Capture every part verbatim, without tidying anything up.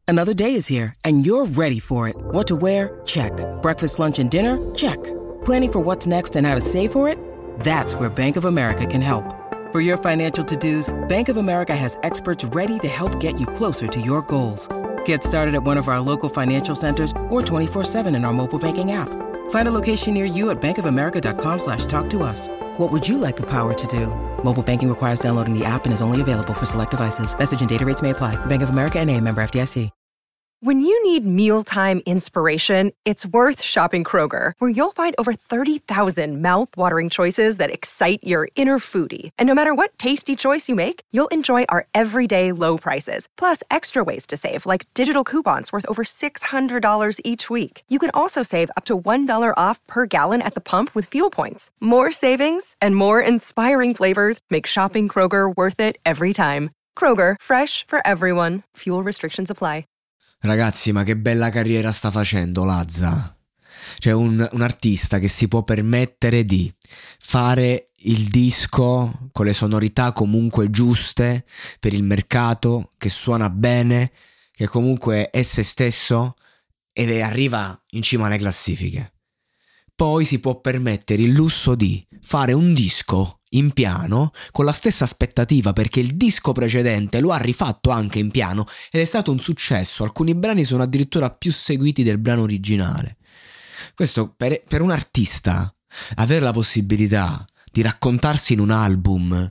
Another day is here, and you're ready for it. What to wear? Check. Breakfast, lunch, and dinner? Check. Planning for what's next and how to save for it? That's where Bank of America can help. For your financial to-dos, Bank of America has experts ready to help get you closer to your goals. Get started at one of our local financial centers or twenty-four seven in our mobile banking app. Find a location near you at bankofamerica.com slash talk to us. What would you like the power to do? Mobile banking requires downloading the app and is only available for select devices. Message and data rates may apply. Bank of America N A, member F D I C. When you need mealtime inspiration, it's worth shopping Kroger, where you'll find over thirty thousand mouth-watering choices that excite your inner foodie. And no matter what tasty choice you make, you'll enjoy our everyday low prices, plus extra ways to save, like digital coupons worth over six hundred dollars each week. You can also save up to one dollar off per gallon at the pump with fuel points. More savings and more inspiring flavors make shopping Kroger worth it every time. Kroger, fresh for everyone. Fuel restrictions apply. Ragazzi, ma che bella carriera sta facendo Lazza. Cioè un, un artista che si può permettere di fare il disco con le sonorità comunque giuste per il mercato, che suona bene, che comunque è se stesso e arriva in cima alle classifiche. Poi si può permettere il lusso di fare un disco in piano con la stessa aspettativa, perché il disco precedente lo ha rifatto anche in piano ed è stato un successo. Alcuni brani sono addirittura più seguiti del brano originale. Questo per, per un artista avere la possibilità di raccontarsi in un album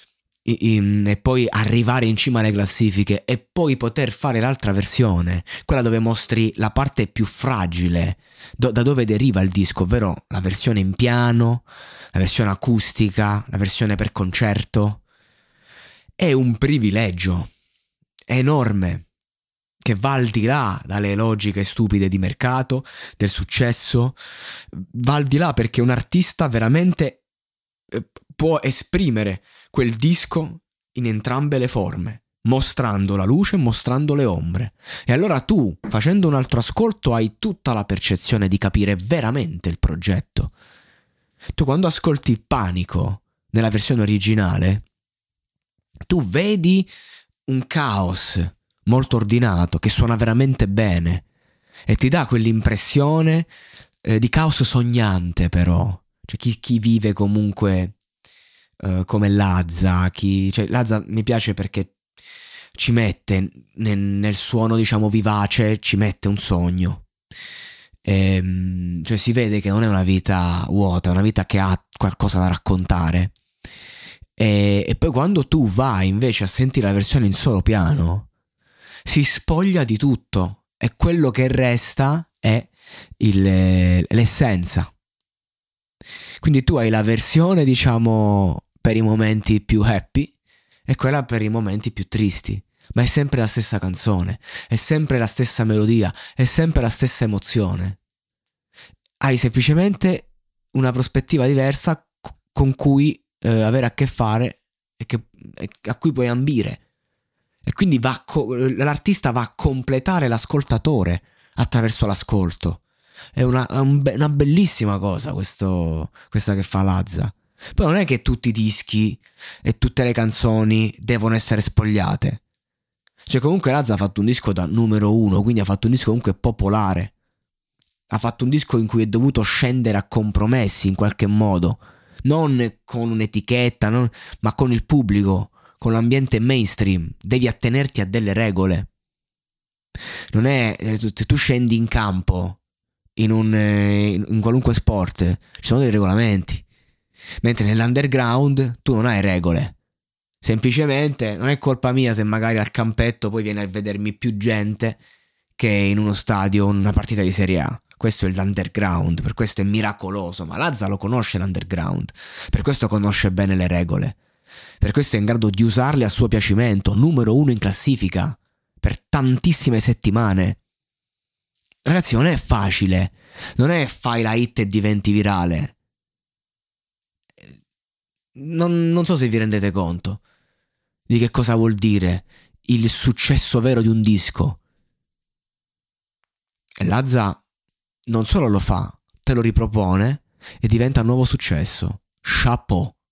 in, e poi arrivare in cima alle classifiche e poi poter fare l'altra versione, quella dove mostri la parte più fragile, do, da dove deriva il disco, ovvero la versione in piano, la versione acustica, la versione per concerto, è un privilegio enorme che va al di là dalle logiche stupide di mercato, del successo, va al di là perché un artista veramente eh, può esprimere quel disco in entrambe le forme, mostrando la luce e mostrando le ombre. E allora tu, facendo un altro ascolto, hai tutta la percezione di capire veramente il progetto. Tu quando ascolti Panico nella versione originale, tu vedi un caos molto ordinato che suona veramente bene e ti dà quell'impressione eh, di caos sognante, però. Cioè chi, chi vive comunque uh, come Lazza, chi, cioè Lazza mi piace perché ci mette nel, nel suono, diciamo, vivace, ci mette un sogno. E, cioè si vede che non è una vita vuota, è una vita che ha qualcosa da raccontare. E, e poi quando tu vai invece a sentire la versione in solo piano, si spoglia di tutto e quello che resta è il, l'essenza. Quindi tu hai la versione, diciamo, per i momenti più happy e quella per i momenti più tristi, ma è sempre la stessa canzone, è sempre la stessa melodia, è sempre la stessa emozione. Hai semplicemente una prospettiva diversa con cui eh, avere a che fare e, che, e a cui puoi ambire. E quindi va co- l'artista va a completare l'ascoltatore attraverso l'ascolto. È una, è un be- una bellissima cosa questo, questa che fa Lazza. Poi non è che tutti i dischi e tutte le canzoni devono essere spogliate. Cioè comunque Lazza ha fatto un disco da numero uno, quindi ha fatto un disco comunque popolare. Ha fatto un disco in cui è dovuto scendere a compromessi in qualche modo, non con un'etichetta, non, ma con il pubblico, con l'ambiente mainstream. Devi attenerti a delle regole. Non è se tu scendi in campo in un in qualunque sport, ci sono dei regolamenti, mentre nell'underground tu non hai regole. Semplicemente non è colpa mia se magari al campetto poi viene a vedermi più gente che in uno stadio, in una partita di Serie A. Questo è l'underground, per questo è miracoloso. Ma Lazza lo conosce l'underground, per questo conosce bene le regole, per questo è in grado di usarle a suo piacimento. Numero uno in classifica per tantissime settimane. Ragazzi, non è facile, non è fai la hit e diventi virale. Non, non so se vi rendete conto di che cosa vuol dire il successo vero di un disco. E Lazza non solo lo fa, te lo ripropone e diventa un nuovo successo. Chapeau.